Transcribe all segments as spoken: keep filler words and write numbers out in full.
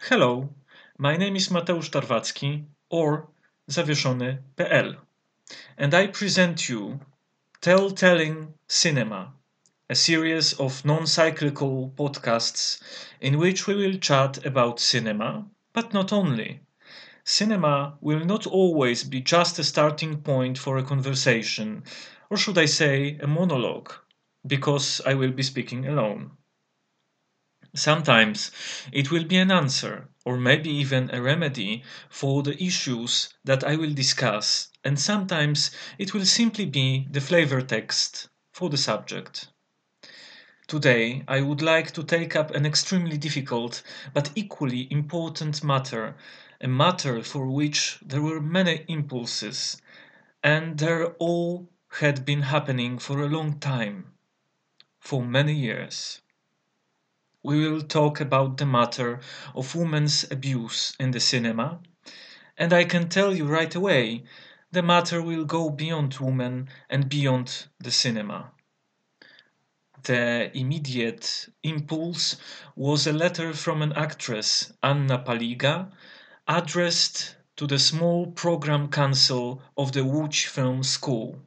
Hello, my name is Mateusz Tarwacki, or Zawieszony dot p l, and I present you Tell-Telling Cinema, a series of non-cyclical podcasts in which we will chat about cinema, but not only. Cinema will not always be just a starting point for a conversation, or should I say a monologue, because I will be speaking alone. Sometimes it will be an answer, or maybe even a remedy for the issues that I will discuss, and sometimes it will simply be the flavor text for the subject. Today, I would like to take up an extremely difficult but equally important matter, a matter for which there were many impulses, and they all had been happening for a long time, for many years. We will talk about the matter of women's abuse in the cinema, and I can tell you right away, the matter will go beyond women and beyond the cinema. The immediate impulse was a letter from an actress, Anna Paliga, addressed to the small program council of the Łódź Film School.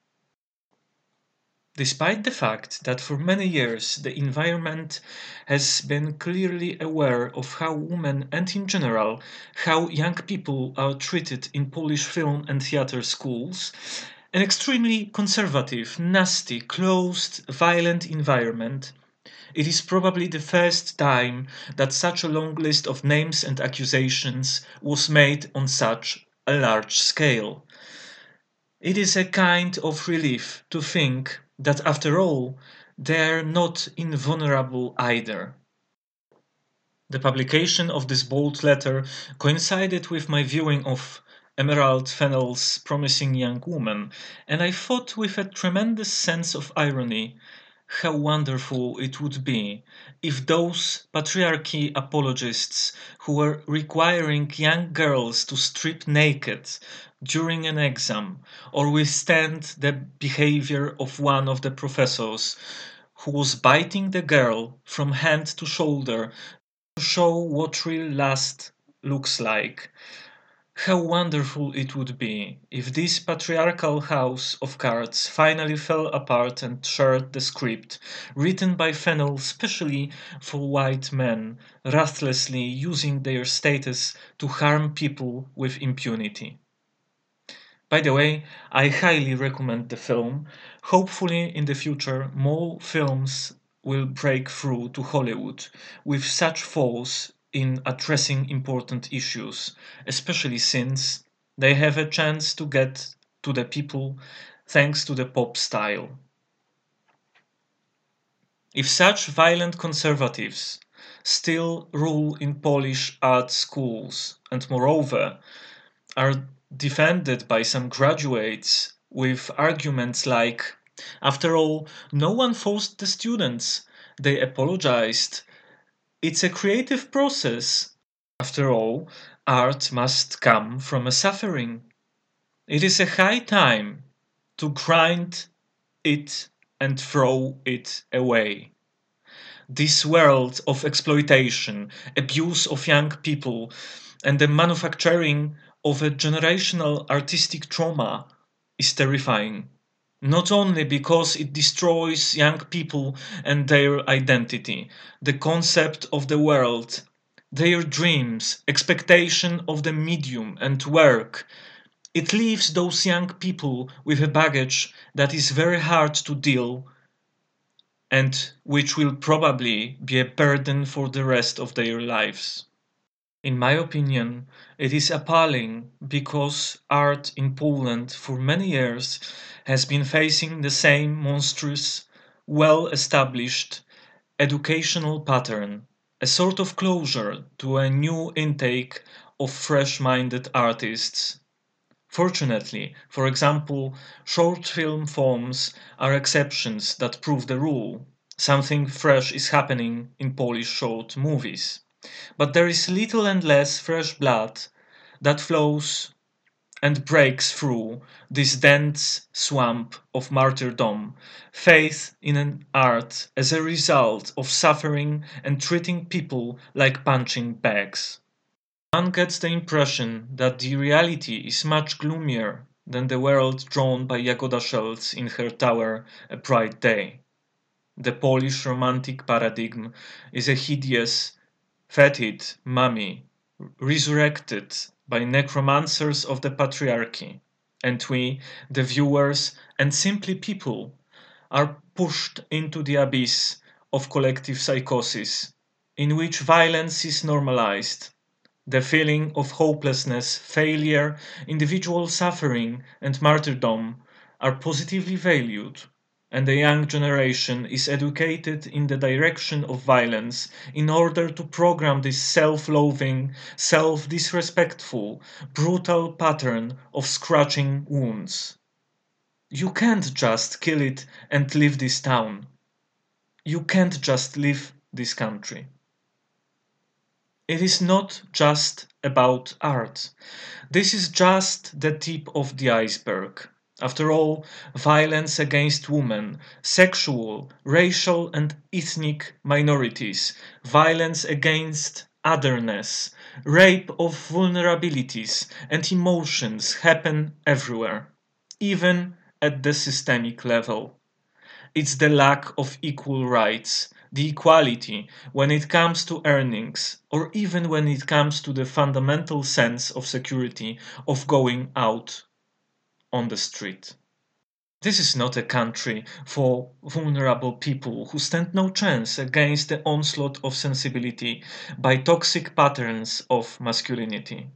Despite the fact that for many years the environment has been clearly aware of how women and in general how young people are treated in Polish film and theater schools, an extremely conservative, nasty, closed, violent environment, it is probably the first time that such a long list of names and accusations was made on such a large scale. It is a kind of relief to think that after all, they're not invulnerable either. The publication of this bold letter coincided with my viewing of Emerald Fennell's Promising Young Woman, and I thought with a tremendous sense of irony how wonderful it would be if those patriarchy apologists who were requiring young girls to strip naked during an exam or withstand the behavior of one of the professors who was biting the girl from hand to shoulder to show what real lust looks like. How wonderful it would be if this patriarchal house of cards finally fell apart and shared the script, written by Fennell specially for white men, ruthlessly using their status to harm people with impunity. By the way, I highly recommend the film. Hopefully, in the future, more films will break through to Hollywood with such force in addressing important issues, especially since they have a chance to get to the people thanks to the pop style. If such violent conservatives still rule in Polish art schools, and moreover are defended by some graduates with arguments like, after all, no one forced the students, they apologized. It's a creative process. After all, art must come from a suffering. It is a high time to grind it and throw it away. This world of exploitation, abuse of young people, and the manufacturing of a generational artistic trauma is terrifying. Not only because it destroys young people and their identity, the concept of the world, their dreams, expectation of the medium and work. It leaves those young people with a baggage that is very hard to deal and which will probably be a burden for the rest of their lives. In my opinion, it is appalling because art in Poland for many years has been facing the same monstrous, well established educational pattern, a sort of closure to a new intake of fresh minded artists. Fortunately, for example, short film forms are exceptions that prove the rule. Something fresh is happening in Polish short movies. But there is little and less fresh blood that flows and breaks through this dense swamp of martyrdom, faith in an art as a result of suffering and treating people like punching bags. One gets the impression that the reality is much gloomier than the world drawn by Jagoda Scholz in her tower A Bright Day. The Polish romantic paradigm is a hideous, fetid mummy resurrected by necromancers of the patriarchy, and we, the viewers and simply people, are pushed into the abyss of collective psychosis, in which violence is normalized. The feeling of hopelessness, failure, individual suffering, and martyrdom are positively valued, and the young generation is educated in the direction of violence in order to program this self-loathing, self-disrespectful, brutal pattern of scratching wounds. You can't just kill it and leave this town. You can't just leave this country. It is not just about art. This is just the tip of the iceberg. After all, violence against women, sexual, racial, and ethnic minorities, violence against otherness, rape of vulnerabilities and emotions happen everywhere, even at the systemic level. It's the lack of equal rights, the equality when it comes to earnings, or even when it comes to the fundamental sense of security of going out on the street. This is not a country for vulnerable people who stand no chance against the onslaught of sensibility by toxic patterns of masculinity.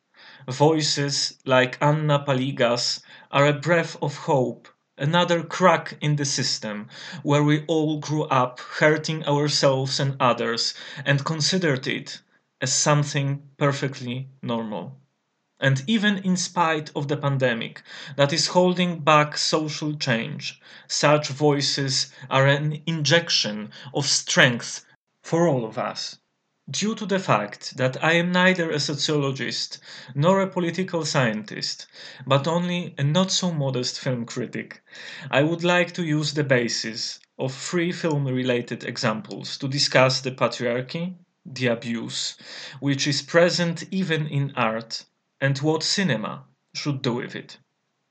Voices like Anna Paligas are a breath of hope, another crack in the system where we all grew up hurting ourselves and others and considered it as something perfectly normal. And even in spite of the pandemic that is holding back social change, such voices are an injection of strength for all of us. Due to the fact that I am neither a sociologist nor a political scientist, but only a not so modest film critic, I would like to use the basis of three film related examples to discuss the patriarchy, the abuse, which is present even in art, and what cinema should do with it.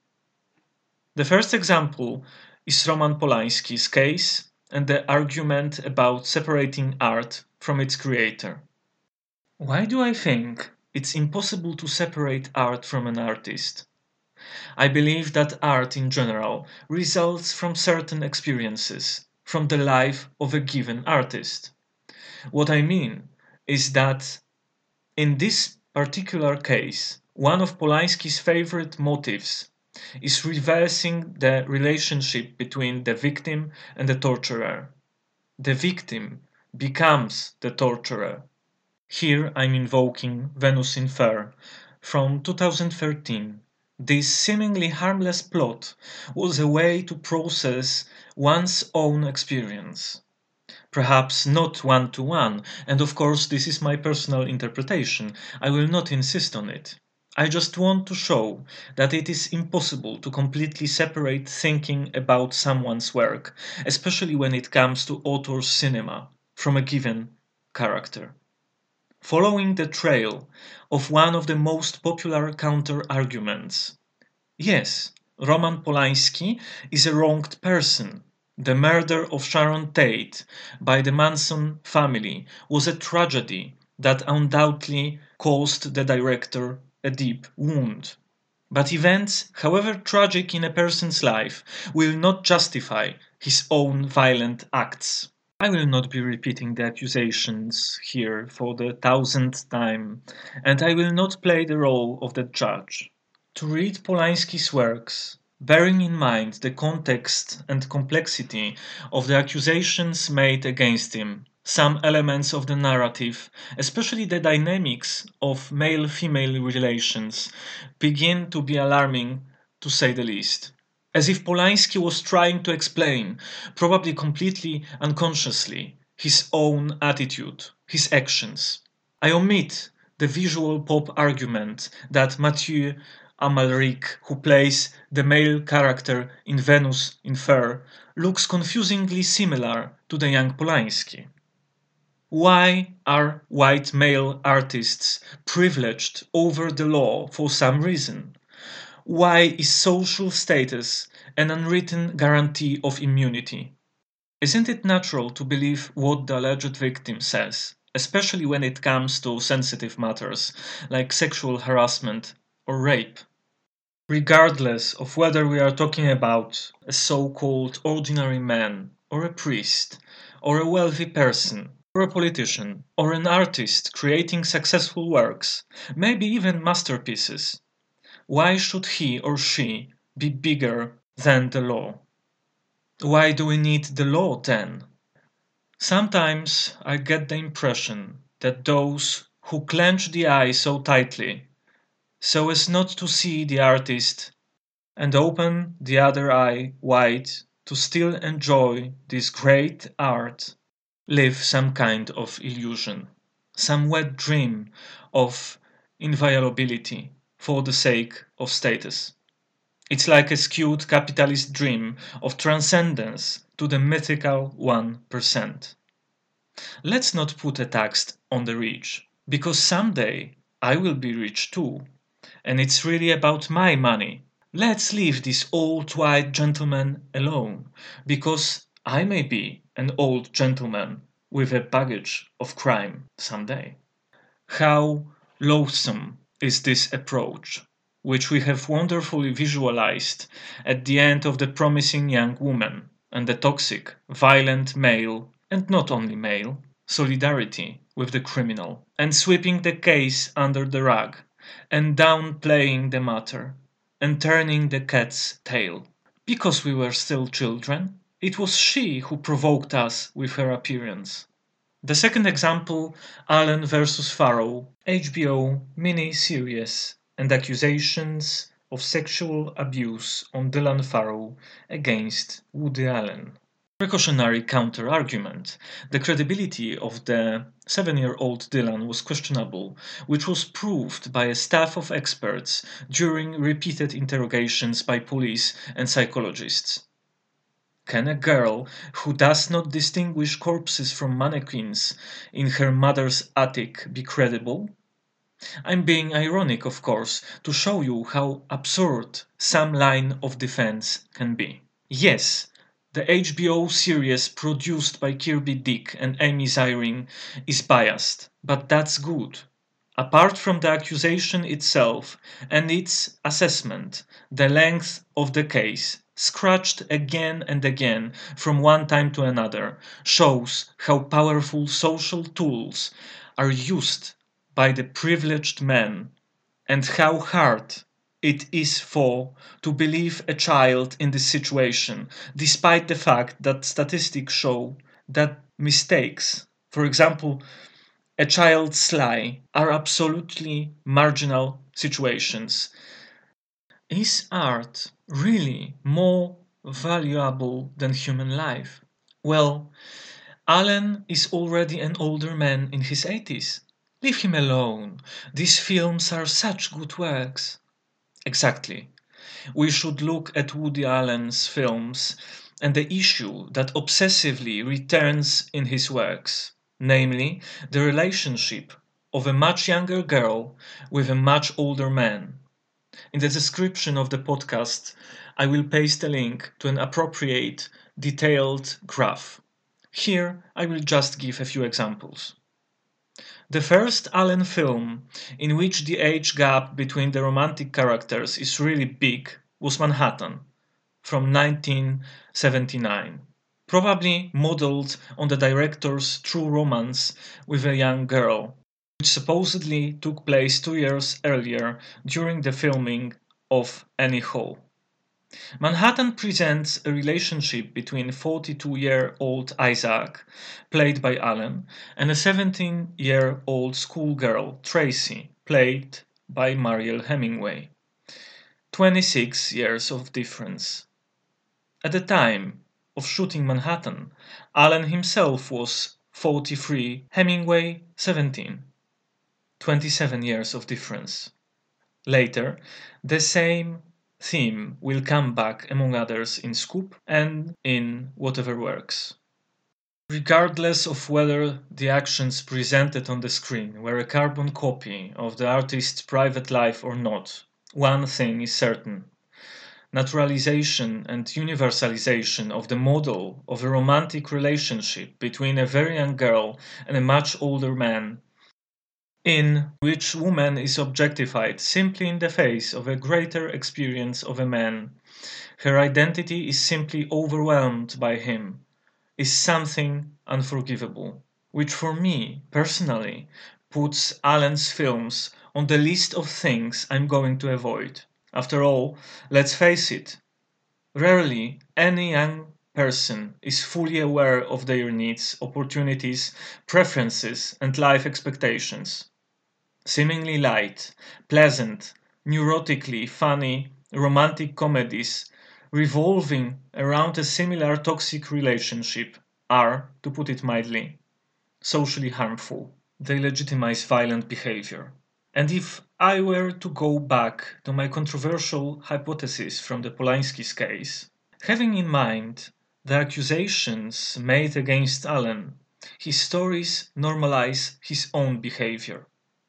The first example is Roman Polanski's case and the argument about separating art from its creator. Why do I think it's impossible to separate art from an artist? I believe that art in general results from certain experiences, from the life of a given artist. What I mean is that in this particular case, one of Polanski's favorite motifs is reversing the relationship between the victim and the torturer. The victim becomes the torturer. Here I'm invoking Venus in Fur from two thousand thirteen. This seemingly harmless plot was a way to process one's own experience. Perhaps not one to one, and of course, this is my personal interpretation. I will not insist on it. I just want to show that it is impossible to completely separate thinking about someone's work, especially when it comes to author's cinema, from a given character. Following the trail of one of the most popular counter-arguments. Yes, Roman Polanski is a wronged person. The murder of Sharon Tate by the Manson family was a tragedy that undoubtedly caused the director a deep wound. But events, however tragic in a person's life, will not justify his own violent acts. I will not be repeating the accusations here for the thousandth time, and I will not play the role of the judge. To read Polanski's works, bearing in mind the context and complexity of the accusations made against him, some elements of the narrative, especially the dynamics of male-female relations, begin to be alarming, to say the least. As if Polanski was trying to explain, probably completely unconsciously, his own attitude, his actions. I omit the visual pop argument that Mathieu Amalric, who plays the male character in Venus in Fur, looks confusingly similar to the young Polanski. Why are white male artists privileged over the law for some reason? Why is social status an unwritten guarantee of immunity? Isn't it natural to believe what the alleged victim says, especially when it comes to sensitive matters like sexual harassment or rape? Regardless of whether we are talking about a so-called ordinary man, or a priest, or a wealthy person, or a politician, or an artist creating successful works, maybe even masterpieces, why should he or she be bigger than the law? Why do we need the law then? Sometimes I get the impression that those who clench the eye so tightly so as not to see the artist and open the other eye wide to still enjoy this great art live some kind of illusion, some wet dream of inviolability for the sake of status. It's like a skewed capitalist dream of transcendence to the mythical one percent. Let's not put a tax on the rich, because someday I will be rich too, and it's really about my money. Let's leave this old white gentleman alone, because I may be an old gentleman with a baggage of crime someday. How loathsome is this approach, which we have wonderfully visualized at the end of The Promising Young Woman and the toxic, violent male, and not only male, solidarity with the criminal, and sweeping the case under the rug, and downplaying the matter, and turning the cat's tail. Because we were still children, it was she who provoked us with her appearance. The second example, Allen versus Farrow, H B O mini-series, and accusations of sexual abuse on Dylan Farrow against Woody Allen. Precautionary counter-argument. The credibility of the seven-year-old Dylan was questionable, which was proved by a staff of experts during repeated interrogations by police and psychologists. Can a girl who does not distinguish corpses from mannequins in her mother's attic be credible? I'm being ironic, of course, to show you how absurd some line of defense can be. Yes, the H B O series produced by Kirby Dick and Amy Ziering is biased, but that's good. Apart from the accusation itself and its assessment, the length of the case, scratched again and again from one time to another, shows how powerful social tools are used by the privileged men and how hard it is for to believe a child in this situation, despite the fact that statistics show that mistakes, for example, a child's lie, are absolutely marginal situations. Is art really more valuable than human life? Well, Allen is already an older man in his eighties. Leave him alone. These films are such good works. Exactly. We should look at Woody Allen's films and the issue that obsessively returns in his works, namely the relationship of a much younger girl with a much older man. In the description of the podcast, I will paste a link to an appropriate, detailed graph. Here, I will just give a few examples. The first Allen film in which the age gap between the romantic characters is really big was Manhattan, from nineteen seventy-nine, probably modeled on the director's true romance with a young girl, which supposedly took place two years earlier during the filming of Annie Hall. Manhattan presents a relationship between forty-two-year-old Isaac, played by Allen, and a seventeen-year-old schoolgirl, Tracy, played by Mariel Hemingway. twenty-six years of difference. At the time of shooting Manhattan, Allen himself was forty-three, Hemingway seventeen. twenty-seven years of difference. Later, the same theme will come back, among others, in Scoop and in Whatever Works. Regardless of whether the actions presented on the screen were a carbon copy of the artist's private life or not, one thing is certain. Naturalization and universalization of the model of a romantic relationship between a very young girl and a much older man, in which woman is objectified simply in the face of a greater experience of a man, her identity is simply overwhelmed by him, is something unforgivable, which for me, personally, puts Allen's films on the list of things I'm going to avoid. After all, let's face it, rarely any young person is fully aware of their needs, opportunities, preferences, and life expectations. Seemingly light, pleasant, neurotically funny romantic comedies revolving around a similar toxic relationship are, to put it mildly, socially harmful. They legitimize violent behavior. And if I were to go back to my controversial hypothesis from the Polanski's case, having in mind the accusations made against Allen, his stories normalize his own behavior.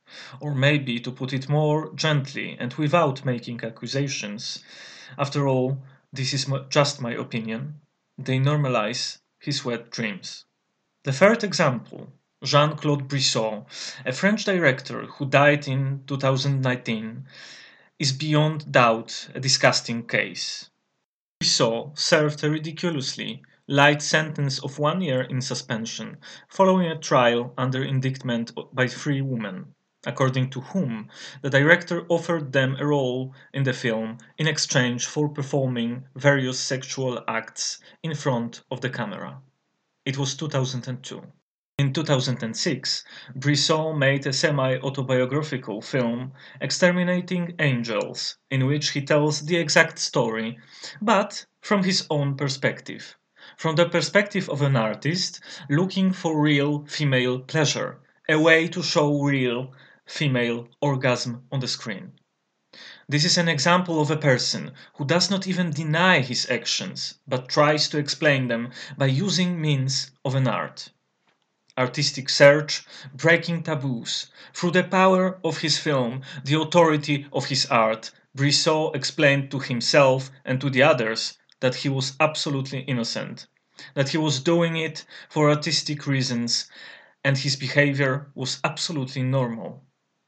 Or maybe, to put it more gently and without making accusations, after all, this is just my opinion, they normalize his wet dreams. The third example, Jean-Claude Brisson, a French director who died in two thousand nineteen, is beyond doubt a disgusting case. Brisson served a ridiculously light sentence of one year in suspension following a trial under indictment by three women, according to whom the director offered them a role in the film in exchange for performing various sexual acts in front of the camera. It was two thousand two. In two thousand six, Brisson made a semi-autobiographical film, Exterminating Angels, in which he tells the exact story, but from his own perspective. From the perspective of an artist looking for real female pleasure, a way to show real female orgasm on the screen. This is an example of a person who does not even deny his actions, but tries to explain them by using means of an art. Artistic search, breaking taboos. Through the power of his film, the authority of his art, Brisson explained to himself and to the others that he was absolutely innocent, that he was doing it for artistic reasons, and his behavior was absolutely normal.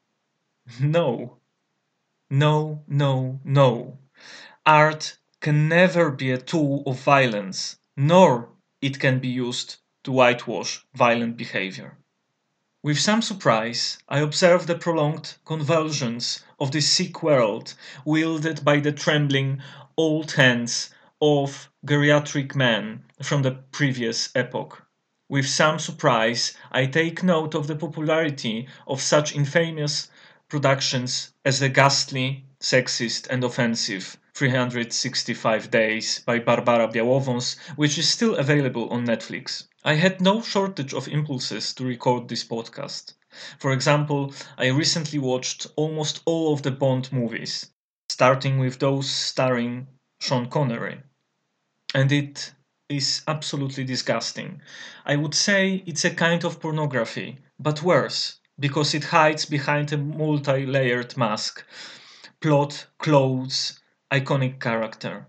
No, no, no, no. Art can never be a tool of violence, nor it can be used to whitewash violent behavior. With some surprise, I observed the prolonged convulsions of the sick world wielded by the trembling old hands of geriatric men from the previous epoch. With some surprise, I take note of the popularity of such infamous productions as the ghastly, sexist, and offensive three hundred sixty-five Days by Barbara Białowąs, which is still available on Netflix. I had no shortage of impulses to record this podcast. For example, I recently watched almost all of the Bond movies, starting with those starring Sean Connery. And it is absolutely disgusting. I would say it's a kind of pornography, but worse, because it hides behind a multi-layered mask. Plot, clothes, iconic character.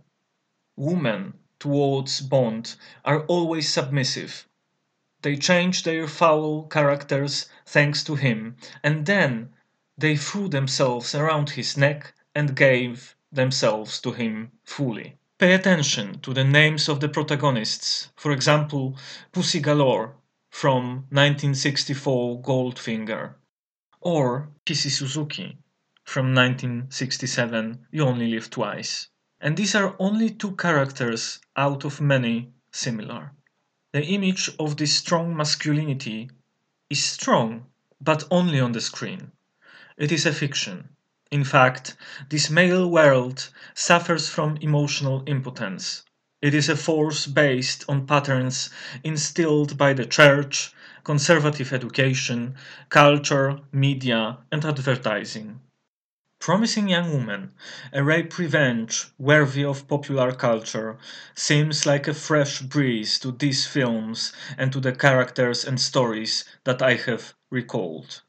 Women towards Bond are always submissive. They change their foul characters thanks to him, and then they threw themselves around his neck and gave themselves to him fully. Pay attention to the names of the protagonists, for example, Pussy Galore from nineteen sixty-four Goldfinger, or Kissy Suzuki from nineteen sixty-seven You Only Live Twice. And these are only two characters out of many similar. The image of this strong masculinity is strong, but only on the screen. It is a fiction. In fact, this male world suffers from emotional impotence. It is a force based on patterns instilled by the church, conservative education, culture, media, and advertising. Promising Young Woman, a rape revenge worthy of popular culture, seems like a fresh breeze to these films and to the characters and stories that I have recalled.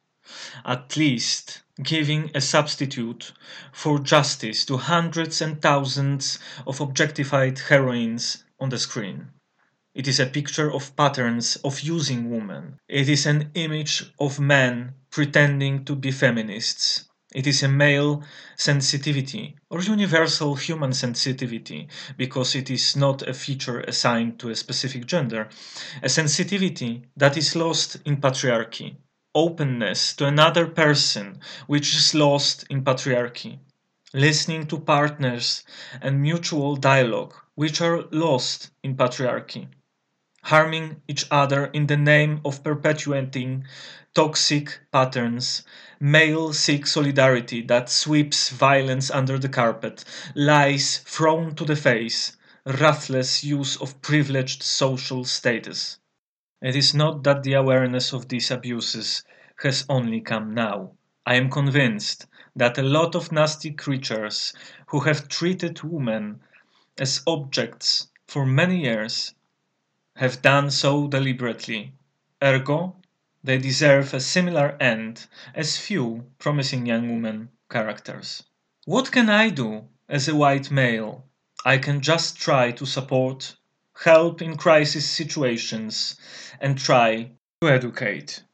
At least giving a substitute for justice to hundreds and thousands of objectified heroines on the screen. It is a picture of patterns of using women. It is an image of men pretending to be feminists. It is a male sensitivity or universal human sensitivity because it is not a feature assigned to a specific gender. A sensitivity that is lost in patriarchy. Openness to another person which is lost in patriarchy. Listening to partners and mutual dialogue which are lost in patriarchy. Harming each other in the name of perpetuating toxic patterns, male Sikh solidarity that sweeps violence under the carpet, lies thrown to the face, ruthless use of privileged social status. It is not that the awareness of these abuses has only come now. I am convinced that a lot of nasty creatures who have treated women as objects for many years have done so deliberately. Ergo, they deserve a similar end as few promising young women characters. What can I do as a white male? I can just try to support, help in crisis situations, and try to educate.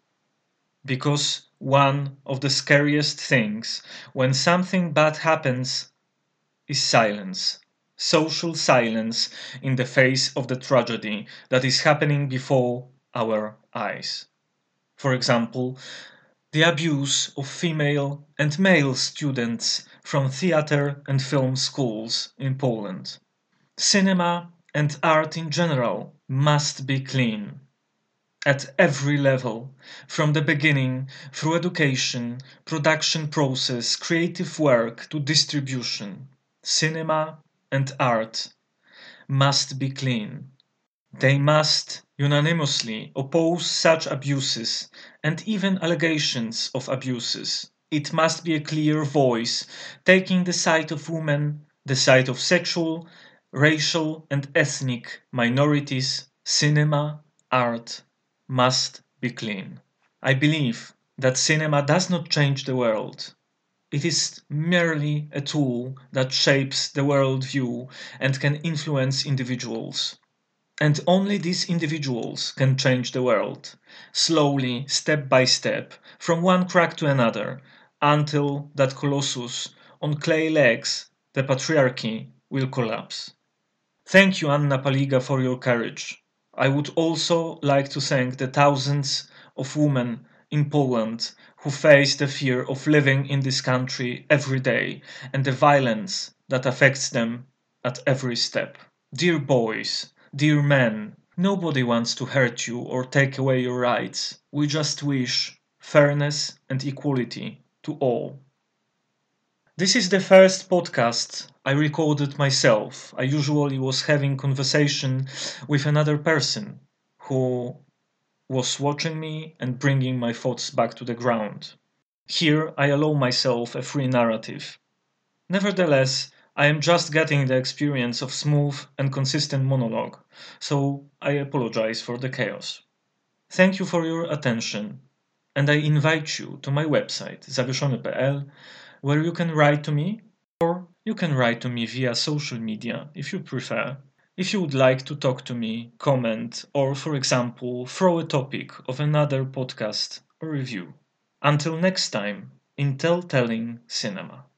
Because one of the scariest things when something bad happens is silence. Social silence in the face of the tragedy that is happening before our eyes. For example, the abuse of female and male students from theater and film schools in Poland. Cinema and art in general must be clean. At every level, from the beginning, through education, production process, creative work to distribution, cinema and art must be clean. They must unanimously oppose such abuses and even allegations of abuses. It must be a clear voice taking the side of women, the side of sexual, racial, and ethnic minorities. Cinema, art must be clean. I believe that cinema does not change the world. It is merely a tool that shapes the world view and can influence individuals. And only these individuals can change the world, slowly, step by step, from one crack to another, until that colossus on clay legs, the patriarchy, will collapse. Thank you, Anna Paliga, for your courage. I would also like to thank the thousands of women in Poland who face the fear of living in this country every day and the violence that affects them at every step. Dear boys, dear men, nobody wants to hurt you or take away your rights. We just wish fairness and equality to all. This is the first podcast I recorded myself. I usually was having conversation with another person who was watching me and bringing my thoughts back to the ground. Here I allow myself a free narrative. Nevertheless, I am just getting the experience of smooth and consistent monologue, so I apologize for the chaos. Thank you for your attention, and I invite you to my website zawieszony dot p l, where you can write to me, or you can write to me via social media if you prefer. If you would like to talk to me, comment, or for example, throw a topic of another podcast or review. Until next time, in Tell Telling Cinema.